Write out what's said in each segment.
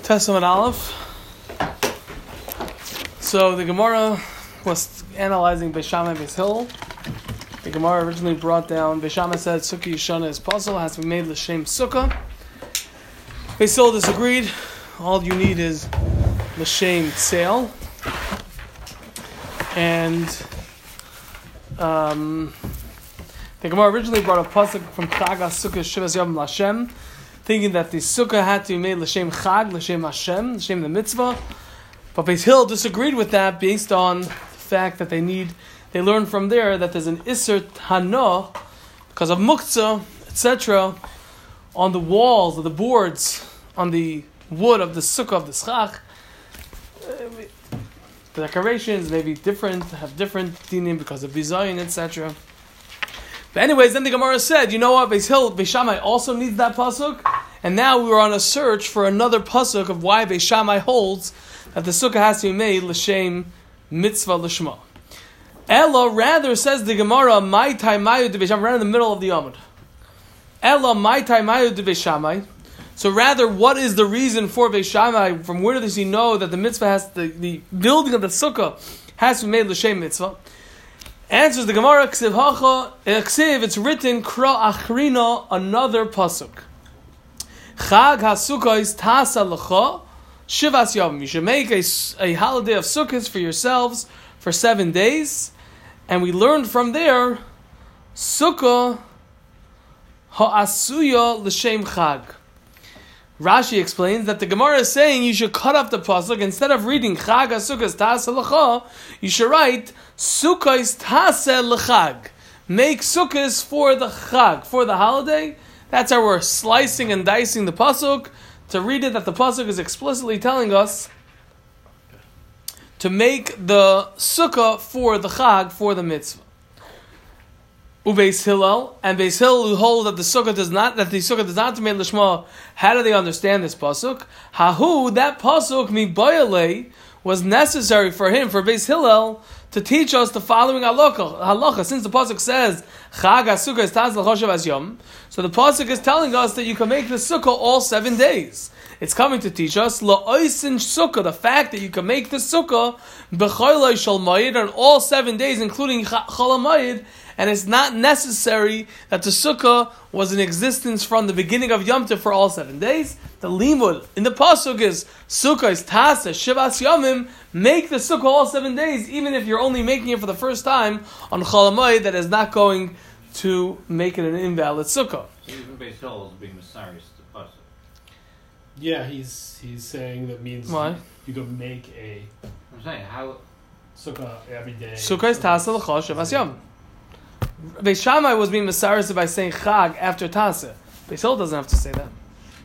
Testament Aleph. So the Gemara was analyzing Beis Shammai and Beis Hillel. The Gemara originally brought down, Beis Shammai said Sukkah Yishana is puzzle, has to be made L'Shem Sukkah. Beis Hillel disagreed. All you need is L'Shem Tseil. And the Gemara originally brought a pasuk from Chagas Sukkah Shivas Yom L'Hashem, thinking that the sukkah had to be made l'shem Chag, l'shem Hashem, l'shem the mitzvah. But Beis Hillel disagreed with that based on the fact that they learned from there that there's an Isser Hana, because of Muktzah, etc., on the walls, of the boards, on the wood of the sukkah of the Schach. The decorations may be different, have different dinim because of Bizayin, etc. But anyways, then the Gemara said, you know what, Beis Shammai also needs that pasuk, and now we were on a search for another pasuk of why Beis Shammai holds that the sukkah has to be made l'shem mitzvah l'shma. Ella rather says the Gemara, my taimayu de Beis Shammai, right in the middle of the Amud. Ella my taimayu de Beis Shammai. So rather, what is the reason for Beis Shammai? From where does he know that the mitzvah has the building of the sukkah has to be made l'shem mitzvah? Answers the Gemara, Ksiv, it's written, Kra Achrina, another pasuk. Chag HaSukkah is Tasa L'cha, Shivas Yom. You should make a holiday of Sukkahs for yourselves for 7 days. And we learned from there, Sukkah Ha'asuya L'shem Chag. Rashi explains that the Gemara is saying you should cut off the pasuk. Instead of reading Chag HaSukkah Tasa L'cha, you should write Sukkah is Taseh L'Chag. Make Sukkahs for the Chag, for the holiday. That's how we're slicing and dicing the pasuk to read it. That the pasuk is explicitly telling us to make the Sukkah for the Chag, for the mitzvah. Ubeis Hillel and Beis Hillel who hold that the sukkah does not made l'shma. How do they understand this pasuk? Hahu, that pasuk mibayale was necessary for him, for Beis Hillel, to teach us the following halacha. Since the pasuk says Chag HaSukkah is Taz L'Choshev As Yom, so the pasuk is telling us that you can make the sukkah all 7 days. It's coming to teach us La'oisin Sukkah, the fact that you can make the sukkah B'choylai Shal Mayid on all 7 days, including Chol HaMayid. And it's not necessary that the sukkah was in existence from the beginning of Yom Tov for all 7 days. The limud in the pasuk is sukkah is tasa shivas yomim. Make the sukkah all 7 days, even if you're only making it for the first time on Chol HaMoed, that is not going to make it an invalid sukkah. So even Beis Hillel is being Messiah to pasuk. Yeah, he's saying that means why? You can make a. I'm saying how sukkah every day. Sukkah is tasa l'chol shivas yom. Beis Shammai was being Messiah by saying Chag after Tasa. Beis Hillel doesn't have to say that.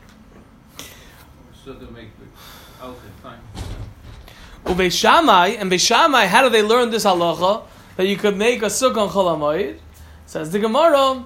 So to make the okay, fine. Beis Shammai, how do they learn this halacha that you could make a sukkah on Chol HaMoed? Says the Gemara,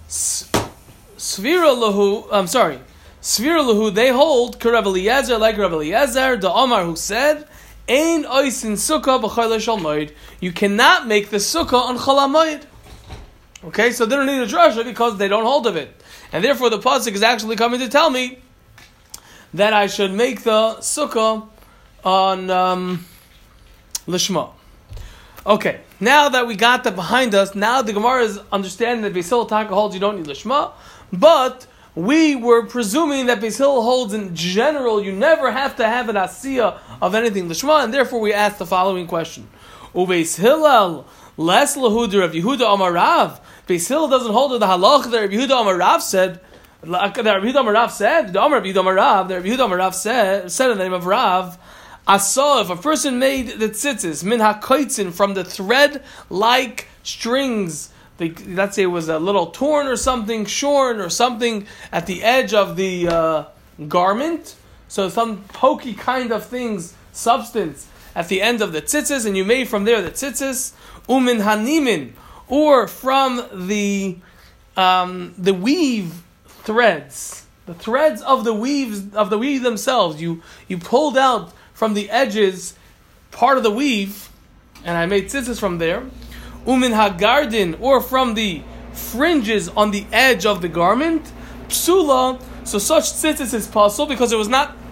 Svira lahu, they hold Rav Eliezer, like Rav Eliezer, the Omar who said, Ein oisin sukkah b'choylei shal moed. You cannot make the sukkah on Chol HaMoed. Okay, so they don't need a drasha because they don't hold of it. And therefore the pasuk is actually coming to tell me that I should make the sukkah on Lishma. Okay, now that we got that behind us, now the Gemara is understanding that Beis Hillel Taka holds you don't need Lishma, but we were presuming that Beis Hillel holds in general you never have to have an asiyah of anything Lishma, and therefore we asked the following question. Ubeis Hillel Les Lahuda of Yehuda Amar Rav. Beis Hillel doesn't hold to the halach that Rabbi Yehuda Amar Rav said. The Rabbi Yehuda Amar Rav said, the Amar Rabbi Yehuda Amar Rav, the Rabbi Yehuda Amar Rav said in the name of Rav, I saw if a person made the tzitzis, min hakoitzin, from the thread-like strings, let's say it was a little torn or something, shorn or something at the edge of the garment, so some pokey kind of things, substance, at the end of the tzitzis, and you made from there the tzitzis, umin hanimin, or from the weave threads, the threads of the weave themselves. You pulled out from the edges part of the weave, and I made tzitzis from there. Umin hagardin, or from the fringes on the edge of the garment. Psula, so such tzitzis is possible because it was not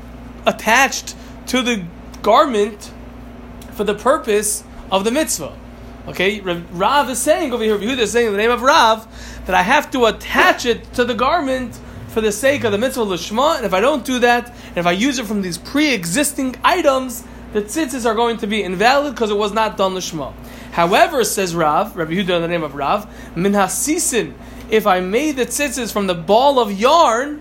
attached to the garment for the purpose of the mitzvah. Okay, Rav is saying over here, Yehuda is saying in the name of Rav, that I have to attach it to the garment for the sake of the mitzvah lishma, and if I don't do that, and if I use it from these pre-existing items, the tzitzis are going to be invalid because it was not done lishma. However, says Rav, Rabbi Yehuda in the name of Rav, min hasisin, if I made the tzitzis from the ball of yarn,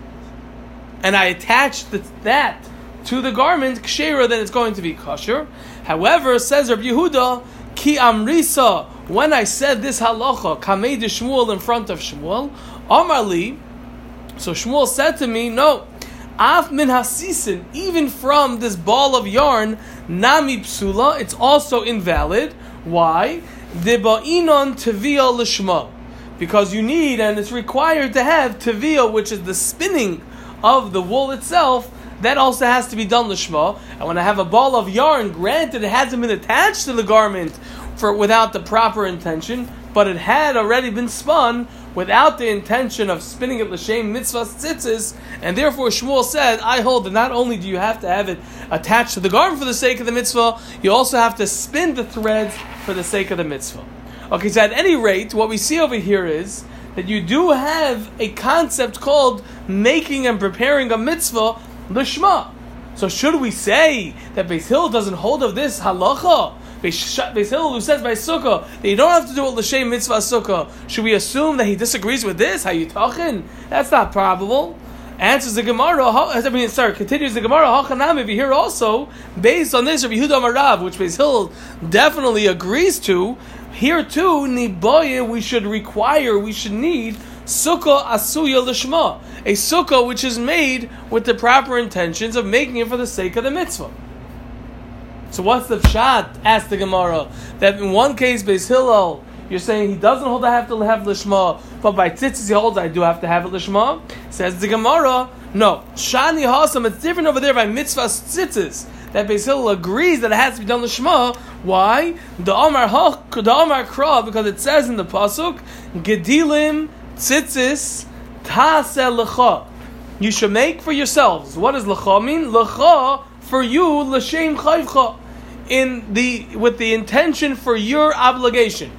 and I attached that to the garment, kshera, then it's going to be kosher. However, says Rabbi Yehuda, ki amrisa, when I said this halacha, kamei de Shmuel in front of Shmuel, Amarli, so Shmuel said to me, no, af min hasisin, even from this ball of yarn, nami psula, it's also invalid. Why? Deba'inon teviyah lishma, because you need, and it's required to have teviyah, which is the spinning of the wool itself. That also has to be done lishma. And when I have a ball of yarn, granted it hasn't been attached to the garment without the proper intention, but it had already been spun without the intention of spinning it l'shem mitzvah tzitzis, and therefore Shmuel said, I hold that not only do you have to have it attached to the garment for the sake of the mitzvah, you also have to spin the threads for the sake of the mitzvah. Okay, so at any rate, what we see over here is that you do have a concept called making and preparing a mitzvah l'shma. So should we say that Beis Hillel doesn't hold of this halacha? Beis Hillel, who says by sukkah that you don't have to do it l'shem mitzvah sukkah, should we assume that he disagrees with this? How you talking? That's not probable. Answers the Gemara. Continues the Gemara. Hachanami. Here also, based on this, Rabbi Yehuda Marav, which Beis Hillel definitely agrees to. Here too, niboye, we should need sukkah asuya l'shma, a sukkah which is made with the proper intentions of making it for the sake of the mitzvah. So what's the pshat? Asked the Gemara. That in one case, Beis Hillel, you're saying he doesn't hold I have to have lishma, but by tzitzis he holds I do have to have it lishma. Says the Gemara, no. Shani hasam, it's different over there by mitzvah tzitzis. That Beis Hillel agrees that it has to be done lishma. Why? The Amar Kra, because it says in the pasuk, Gedilim tzitzis taseh lecha. You should make for yourselves. What does lecha mean? Lecha, for you, l'shem chayvcha, with the intention for your obligation.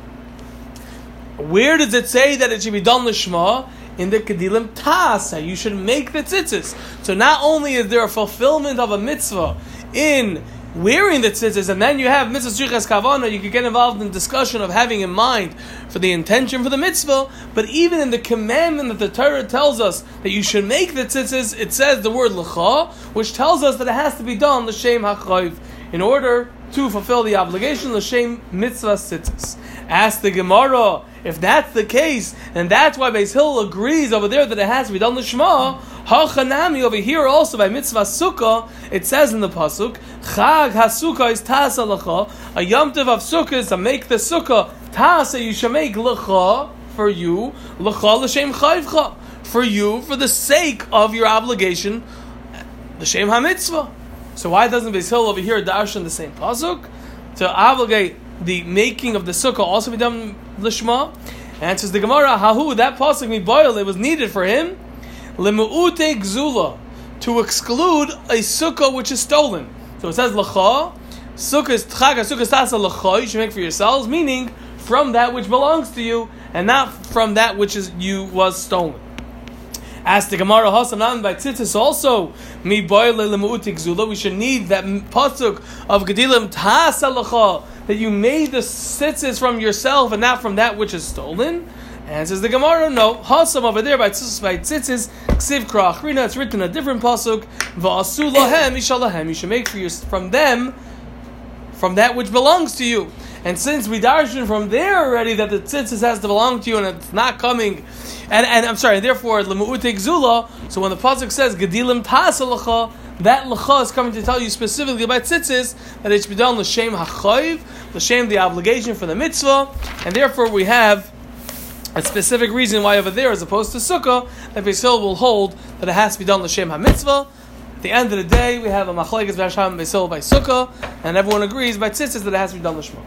Where does it say that it should be done l'shma? In the Kedilim Tasa, you should make the tzitzis. So not only is there a fulfillment of a mitzvah in wearing the tzitzis, and then you have mitzvah shrichas kavana, you could get involved in discussion of having in mind for the intention for the mitzvah, but even in the commandment that the Torah tells us that you should make the tzitzis, it says the word l'cha, which tells us that it has to be done l'shem hachayv, in order to fulfill the obligation l'shem mitzvah tzitzis. Ask the Gemara, if that's the case, and that's why Beis Hillel agrees over there that it has to be done l'shma, hachanami over here also by mitzvah sukkah, it says in the pasuk, Chag HaSukkah is tasa l'cha, a Yom Tov of sukkah is to make the sukkah, tasa you should make l'cha, for you, l'cha l'shem chayvcha, for you, for the sake of your obligation, l'shem ha-mitzvah. So why doesn't Beis Hillel over here darshan the same pasuk? To obligate the making of the sukkah also be done l'shma? Answers the Gemara, hahu, that pasuk miboil, it was needed for him, lemu'ute gzula, to exclude a sukkah which is stolen. So it says l'cha, sukkah is tchag, sukkah is tasa l'cha, you should make for yourselves, meaning from that which belongs to you, and not from that which was stolen. As the Gemara Hasanan by tzitzis also, mi boile lemu'utik zula, we should need that pasuk of Gedilim Tasa l'cha, that you made the tzitzis from yourself and not from that which is stolen. And says the Gemara, no, Hasam over there by tzitzis, ksiv kra'achrina, it's written a different pasuk, va'asu lahem, ishalahem, you should make for from them, from that which belongs to you. And since we darshan from there already that the tzitzis has to belong to you and it's not coming, and I'm sorry, therefore lemu'utik zula. So when the pasuk says gedilim tasa l'cha, that l'cha is coming to tell you specifically about tzitzis that it should be done l'shem hachayv, l'shem the obligation for the mitzvah, and therefore we have a specific reason why over there, as opposed to sukkah, that Beis Hillel will hold that it has to be done l'shem ha-mitzvah. At the end of the day, we have a machlekes v'hasham Beis Hillel by sukkah, and everyone agrees by tzitzis that it has to be done l'shma.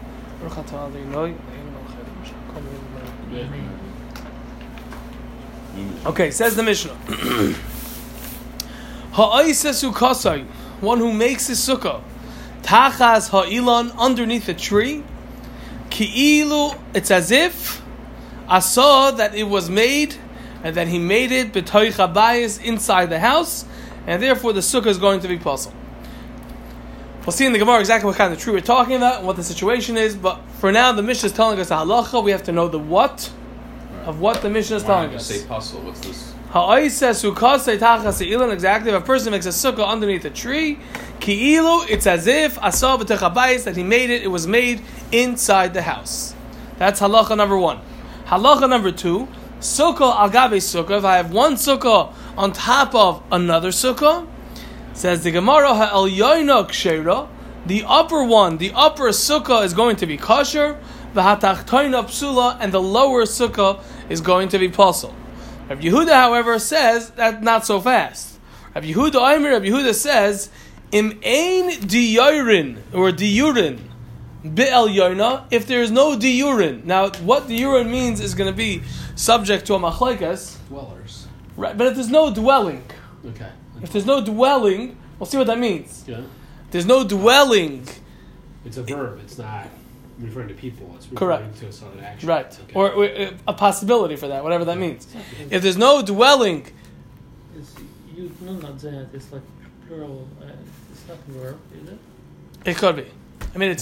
Okay, says the Mishnah. Ha'oiseh sukasai, one who makes his sukkah, tachas ha'ilan, underneath a tree, ki'ilu, it's as if I saw that it was made, and that he made it b'toich habayis, inside the house, and therefore the sukkah is going to be puzzle. We'll see in the Gemara exactly what kind of tree we're talking about and what the situation is, but for now the Mishnah is telling us the halacha. We have to know the what of what the Mishnah is telling us. Say puzzle. What's this? Ha'oiseh sukasei tachas ha'ilan, exactly. If a person makes a sukkah underneath a tree, ki'ilu, it's as if asah b'toich habayis, that he made it. It was made inside the house. That's halacha number 1. Halacha number 2, sukkah al gabe sukkah. If I have one sukkah on top of another sukkah, says the Gemara, ha'el yoino kshera, the upper one, the upper sukkah is going to be kosher, v'hatachtoina psula, and the lower sukkah is going to be pasul. Rav Yehuda, however, says that not so fast. Rav Yehuda says, im ein diyurin, or diyurin, Be'el Yoina, if there is no diurin. Now, what diurin means is going to be subject to a machlekes. Dwellers. Right, but if there's no dwelling, Okay. if there's no dwelling, we'll see what that means. Yeah. There's no dwelling, It's a verb. It's not referring to people. It's referring Correct. to some action. right, Okay. or a possibility for that, whatever that means. If there's no dwelling, It's you not that. It's like plural. It's not verb, is it? it could be. I mean,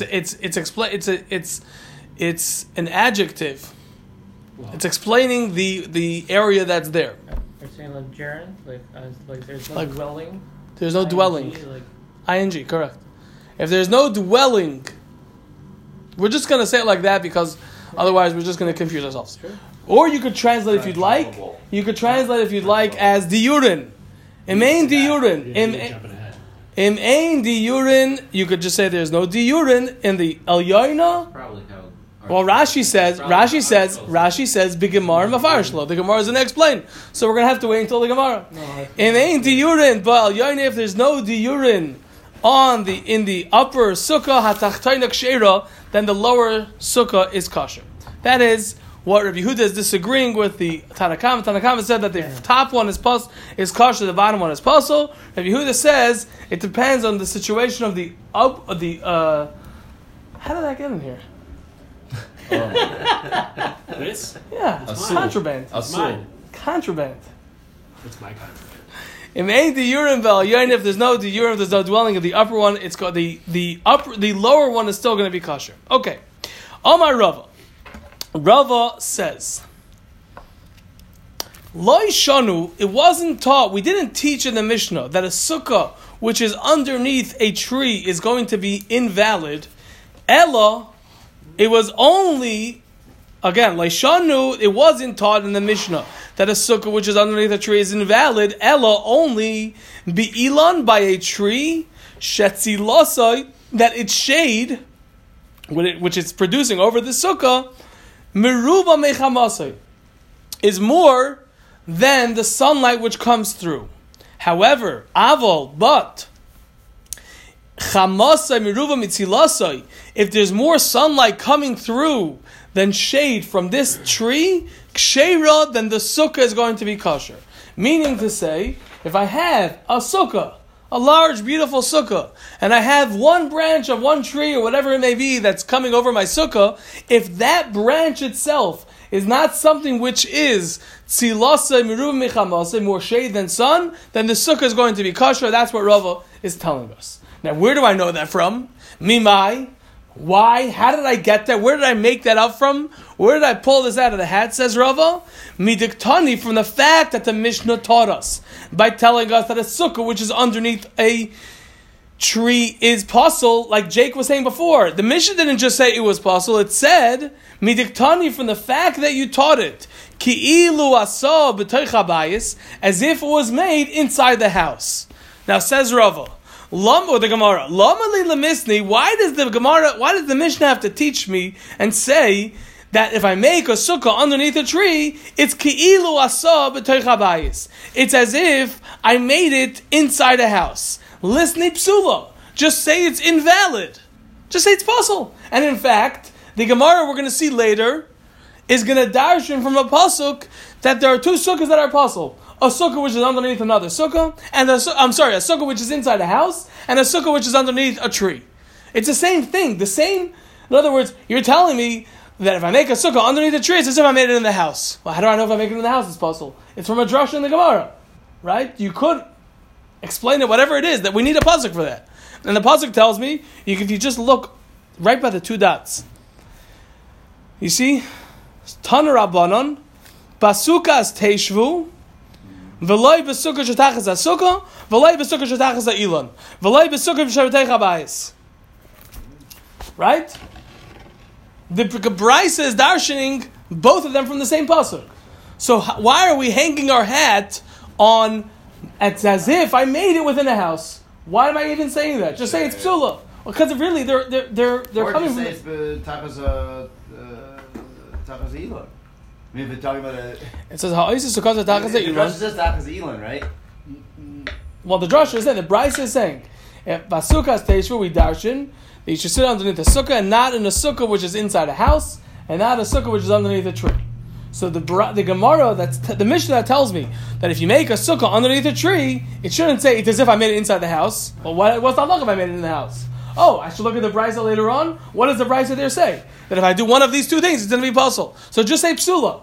it's an adjective. Well, It's explaining the area that's there. Are saying like gerund, like there's no Like- dwelling. There's no ING, dwelling. Like ING, correct. If there's no dwelling, we're just going to say it like that because otherwise we're just going to confuse ourselves. Sure. Or you could translate if you'd like. You could translate if you'd like as diurin. Im ein diurin. yeah, you're jumping ahead. Im ein diurin. You could just say there's no diurin in the elyoina. Probably how. Well, Rashi says Bigemar Mafarshlo. The Gemara is going to explain. So we're going to have to wait until the Gemara. Im ein diurin, but elyoina, if there's no diurin in the upper sukkah hatachtoina kshera, then the lower sukkah is kosher. That is what Rabbi Yehuda is disagreeing with the Tanakama. Tanakama said that the top one is kosher, the bottom one is pasul. Rabbi Yehuda says it depends on the situation of the how did I get in here? This? Yeah, Asul. contraband. It's mine. Contraband. It's my contraband. Im ein diurim ve'al if there's no diurim, there's no dwelling of the upper one. It's called the lower one is still going to be kosher. Okay, Amar Rava. Rava says, Loi shanu. It wasn't taught. We didn't teach in the Mishnah that a sukkah which is underneath a tree is going to be invalid. Ella, it was only. Again, Leishanu, it wasn't taught in the Mishnah that a sukkah which is underneath a tree is invalid. Ella, only be'ilan, by a tree, shetzilosai, that its shade, which it's producing over the sukkah, meruba mechamasai, is more than the sunlight which comes through. However, avol, but chamasai meruba mitzilasai, if there's more sunlight coming through than shade from this tree, kshera, then the sukkah is going to be kosher. Meaning to say, if I have a sukkah, a large, beautiful sukkah, and I have one branch of one tree or whatever it may be that's coming over my sukkah, if that branch itself is not something which is tzilasa miruv michamasa, more shade than sun, then the sukkah is going to be kosher. That's what Rava is telling us. Now, where do I know that from? Mimai. Why? How did I get that? Where did I make that up from? Where did I pull this out of the hat, says Rava? Midiktani, from the fact that the Mishnah taught us by telling us that a sukkah which is underneath a tree is pasul, like Jake was saying before. The Mishnah didn't just say it was pasul, it said, Midiktani, from the fact that you taught it, Ki'ilu asa b'toich habayis, as if it was made inside the house. Now says Rava, or the Gemara, why does the Mishnah have to teach me and say that if I make a sukkah underneath a tree, it's ki'ilu asa b'toich habayis. It's as if I made it inside a house. Lisni psula. Just say it's invalid. Just say it's pasul. And in fact, the Gemara we're going to see later is going to darshan from a pasuk that there are two sukkahs that are pasul. a sukkah which is underneath another sukkah, and a sukkah which is inside a house, and a sukkah which is underneath a tree. It's the same thing. In other words, you're telling me that if I make a sukkah underneath a tree, it's as if I made it in the house. Well, how do I know if I make it in the house? It's possible. It's from a drasha in the Gemara, right? You could explain it, whatever it is, that we need a pasuk for that. And the pasuk tells me, if you just look right by the two dots, you see, Tana Rabbanon, Basukas Teishvu, V'loi b'sukkah shetachas ha'sukkah, v'loi b'sukkah shetachas ha'ilon, v'loi b'sukkah b'sharetei chabayis. Right? The Brisa is darshaning both of them from the same pasuk. So why are we hanging our hat on? It's as if I made it within a house. Why am I even saying that? Just say it's psula. Because really, they're coming from. Or just say it's tachas elon. I mean, if we're talking about a. It says ha'osis sukkah tachas The elon. drasha says tachas elon, right? Well, the drasha is saying, the Brisa is saying, if basukas teishvu we darshan, that you should sit underneath a sukkah and not in a sukkah which is inside a house, and not a sukkah which is underneath a tree. So the Gemara, the Mishnah that tells me that if you make a sukkah underneath a tree, it shouldn't say it's as if I made it inside the house. Well, what's that look if I made it in the house? Oh, I should look at the Brisa later on. What does the Brisa there say? That if I do one of these two things, it's going to be puzzle. So just say psula.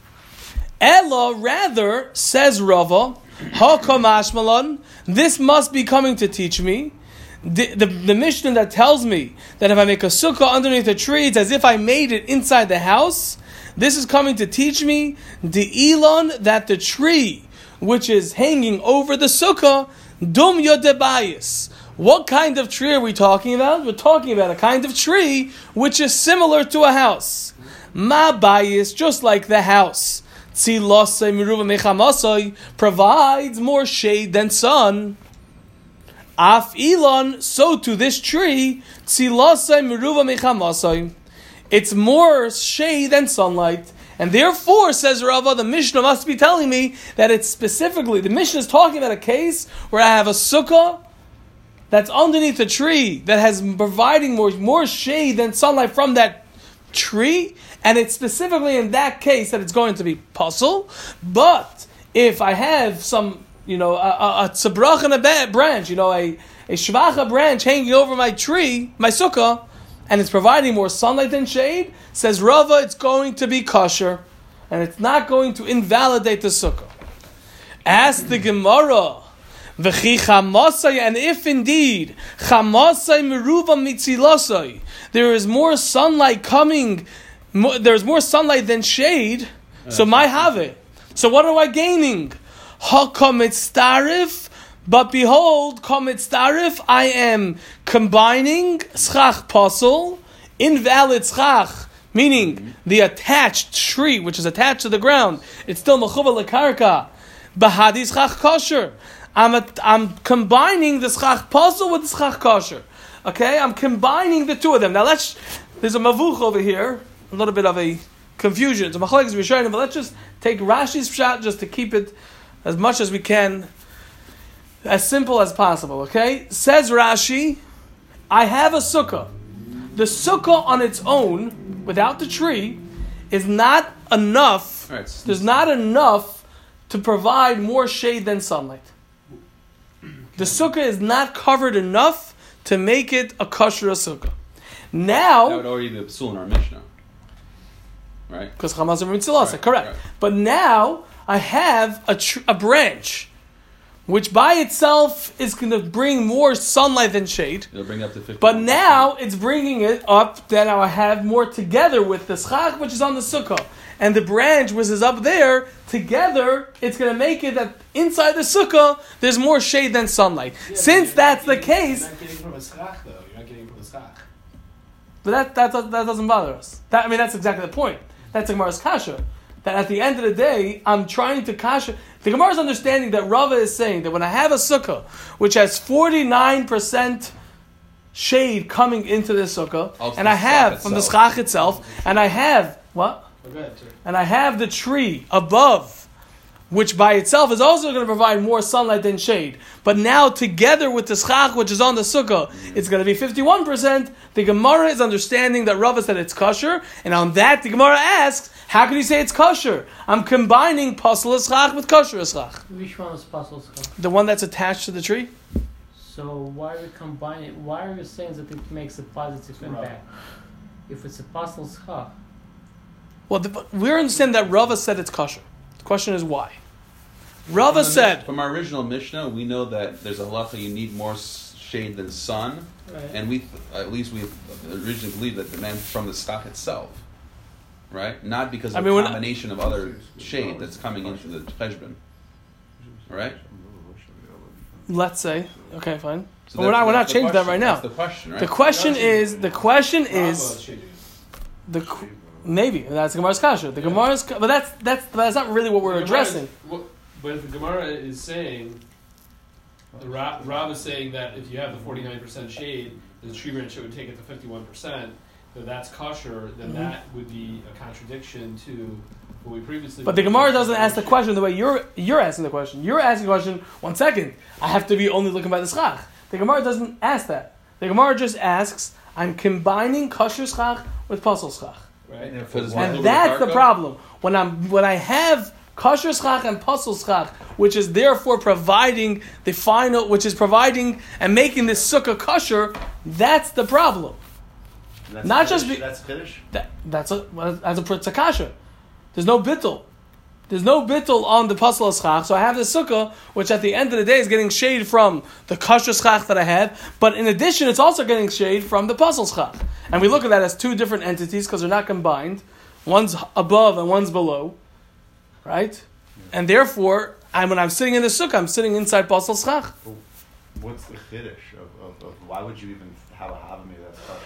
Ella, rather, says Rava, Hakamashmalan, this must be coming to teach me. The Mishnah that tells me that if I make a sukkah underneath a tree, it's as if I made it inside the house. This is coming to teach me the elon, that the tree which is hanging over the sukkah, dum yodebayis. What kind of tree are we talking about? We're talking about a kind of tree which is similar to a house. Ma bayis, just like the house. Tzilosei miruva mechamasoi, provides more shade than sun. Af elon, so to this tree, tzilosei miruva mechamasoi. It's more shade than sunlight. And therefore, says Rava, the Mishnah must be telling me that it's specifically, the Mishnah is talking about a case where I have a sukkah that's underneath a tree that has providing more shade than sunlight from that tree, and it's specifically in that case that it's going to be puzzle. But if I have some, a tzabrach and a branch, a shvacha branch hanging over my tree, my sukkah, and it's providing more sunlight than shade, says Rava, it's going to be kosher, and it's not going to invalidate the sukkah. Ask the Gemara, v'chi chamasai, and if indeed chamasai meruva mitzilosai, there is more sunlight coming, there's more sunlight than shade, so my have it. So what am I gaining? Hakamitz but behold, kamitz I am combining schach pasel, invalid schach, meaning the attached tree, which is attached to the ground, it's still mechuva lekarka, bahadi schach kosher. I'm combining the schach pasel with the schach kosher. Okay, I'm combining the two of them. Now there's a mavuch over here, a little bit of a confusion. It's a machlekes rishonim, but let's just take Rashi's pshat just to keep it as much as we can, as simple as possible. Okay, says Rashi, I have a sukkah. The sukkah on its own, without the tree, is not enough. Right. There's not enough to provide more shade than sunlight. The sukkah is not covered enough to make it a kosher sukkah. Now, that would already be the psul in our Mishnah, right? Because chamas are mitzilasa, Right, correct. right. But now I have a branch, which by itself is going to bring more sunlight than shade. It'll bring it up to 50. But now it's bringing it up that now I have more together with the schach, which is on the sukkah, and the branch, which is up there, together, it's going to make it that inside the sukkah, there's more shade than sunlight. Yeah, Since that's the case, You're not getting from a schach, though. You're not getting from a schach. but that doesn't bother us. That's exactly the point. That's the Gemara's kasha. That at the end of the day, I'm trying to kasha. The Gemara's understanding that Rava is saying that when I have a sukkah, which has 49% shade coming into the sukkah, Oh, and I have from the schach itself, and I have, what? Oh, go ahead, sir. And I have the tree above, which by itself is also going to provide more sunlight than shade. But now together with the schach, which is on the sukkah, it's going to be 51%. The Gemara is understanding that Rava said it's kosher, and on that the Gemara asks, How can you say it's kosher? I'm combining pasal eschach with kosher eschach. Which one is pasal schach? The one that's attached to the tree? So why are you combining? Why are you saying that it makes a positive impact? If it's a pasal schach, Well, we understand that Rava said it's kosher. The question is why. Rava said... From our original Mishnah, we know that there's a halacha you need more shade than sun, right? and we originally believed that the man from the stock itself, right? Not because of a combination of other shade that's coming into the cheshbon, right? Let's say, okay, fine. So But we're not changing that right now. That's the question, right? The question is, maybe that's Gemara's kasha. The Gemara's, but that's not really what we're addressing. But if the Gemara is saying, the Rav is saying that if you have the 49% shade, the tree branch would take it to 51%. That that's kosher. Then that would be a contradiction to what we previously. But the Gemara doesn't ask the question the way you're asking the question. You're asking the question. 1 second, I have to be only looking by the schach. The Gemara doesn't ask that. The Gemara just asks, I'm combining kosher schach with pasal schach. Right. And that's the problem. When I have kosher schach and pasal schach, which is therefore providing the final, which is providing and making this sukkah kosher, that's the problem. That's Not Kiddush? just That's Kiddush? That's a kasha. There's no bittul. There's no bittul on the pasal schach. So I have the sukkah, which at the end of the day is getting shade from the kosher schach that I had, but in addition, it's also getting shade from the pasal schach. And we look at that as two different entities because they're not combined. One's above and one's below, right? And therefore, when I'm sitting in the sukkah, I'm sitting inside pasal schach. What's the Kiddush of why would you even have a havami that's kosher?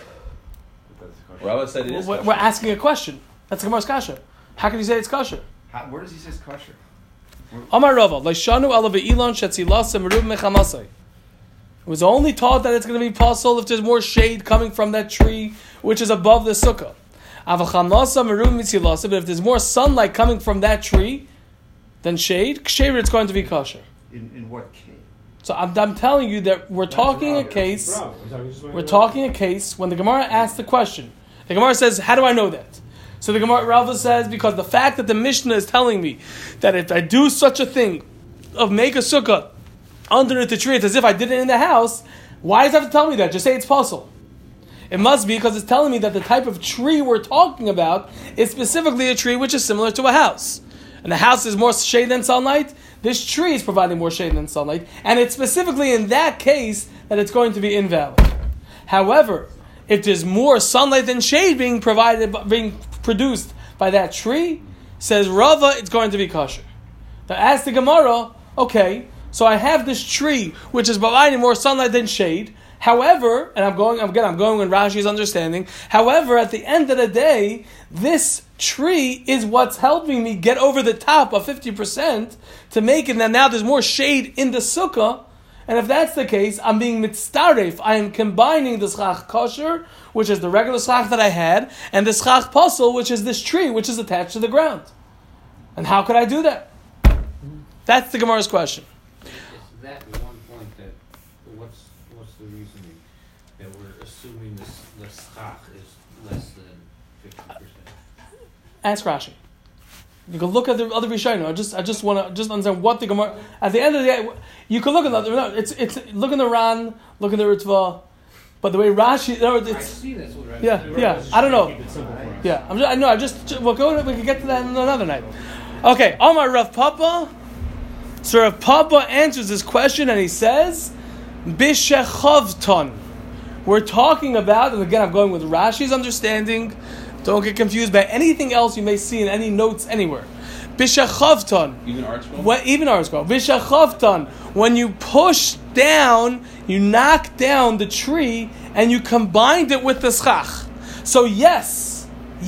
Rava said it is kosher. We're asking a question. That's the Gemara's kasha. How can you say it's kosher? Where does he say it's kosher? Amar Rava, Leishanu ala ve'ilon shetzilasa merub mechamasai. It was only taught that it's going to be possible if there's more shade coming from that tree, which is above the sukkah. Avachamasa merub mitzilasa, but if there's more sunlight coming from that tree than shade, ksheir, it's going to be kosher. In what case? So I'm telling you that we're talking a case. We're talking a case when the Gemara asks the question. The Gemara says, "How do I know that?" So the Gemara Rava says, because the fact that the Mishnah is telling me that if I do such a thing of make a sukkah underneath the tree, it's as if I did it in the house. Why does it have to tell me that? Just say it's possible. It must be because it's telling me that the type of tree we're talking about is specifically a tree which is similar to a house. And the house is more shade than sunlight. This tree is providing more shade than sunlight. And it's specifically in that case that it's going to be invalid. However, if there's more sunlight than shade being produced by that tree, says Rava, it's going to be kosher. Now ask the Gemara, okay, so I have this tree which is providing more sunlight than shade. However, and I'm going with Rashi's understanding. However, at the end of the day, this tree is what's helping me get over the top of 50% to make it that now there's more shade in the sukkah. And if that's the case, I'm being mitzaref. I am combining the schach kosher, which is the regular schach that I had, and the schach pasal, which is this tree, which is attached to the ground. And how could I do that? That's the Gemara's question. Is that one point that what's the reasoning that we're assuming the schach is less than 50%? Ask Rashi. You can look at the other Rishonim. I just want to understand what the Gemara. At the end of the day, you can look at the. No, it's look in the Ran, look in the Ritva, but the way Rashi. No, I it's see that's what Rashi yeah. I don't know. Yeah, we'll go. We can get to that another night. Okay, Amar Rav Papa. So Rav Papa answers this question and he says, Bishechavton. We're talking about, and again I'm going with Rashi's understanding. Don't get confused by anything else you may see in any notes anywhere. Bishachavton. Even ArtScroll? Even ArtScroll. Bishachavton. When you push down, you knock down the tree and you combined it with the schach. So yes,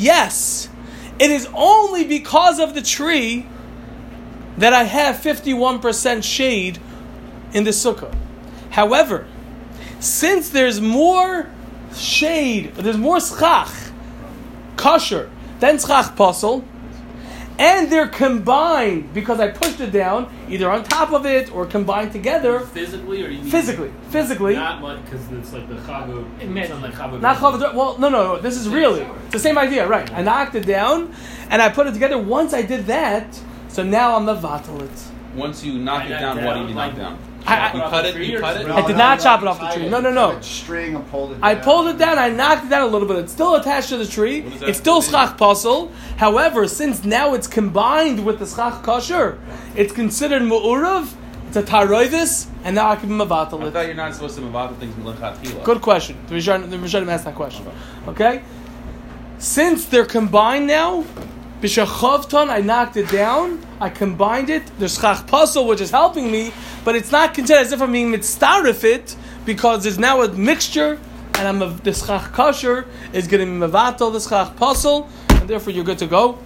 it is only because of the tree that I have 51% shade in the sukkah. However, since there's more shade, there's more schach, kosher, than schach pasal, and they're combined because I pushed it down, either on top of it or combined together. Physically, or you mean Physically. Not like because it's like the chago. It sounds like chago. Not chavod. Well, no. This is really it's the same idea, right? I knocked it down, and I put it together. Once I did that, so now I'm mevatel it. Once you knock it down, what do you knock down? You cut it. I did not chop it off the tree. No. String and pulled it down. I pulled it down. I knocked it down a little bit. It's still attached to the tree. It's still schach pasul. However, since now it's combined with the schach kosher, it's considered mu'urav. It's a taroivis, and now I can mevatel I it. thought you're not supposed to mevatel things lechatchila. Good question. The Rishonim asked that question. Okay? Since they're combined now, b'shachavton, I knocked it down, I combined it, there's schach pasul, which is helping me, but it's not considered as if I'm being mitzdarif it, because there's now a mixture, and the schach kosher is going to be mevatel, the schach pasul, and therefore you're good to go.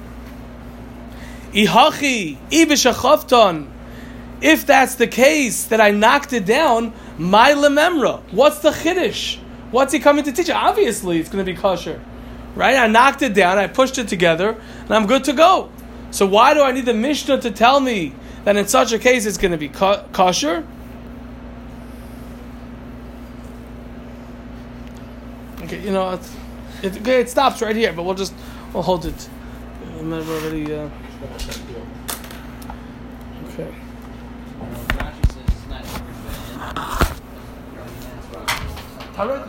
Ihachi, ibishachavton. If that's the case, that I knocked it down, my lememra. What's the chiddush? What's he coming to teach? Obviously, it's going to be kosher. Right? I knocked it down, I pushed it together, and I'm good to go. So why do I need the Mishnah to tell me that in such a case it's going to be kosher? Okay, it stops right here, but we'll hold it. I'm already. Okay. Rashi says it's not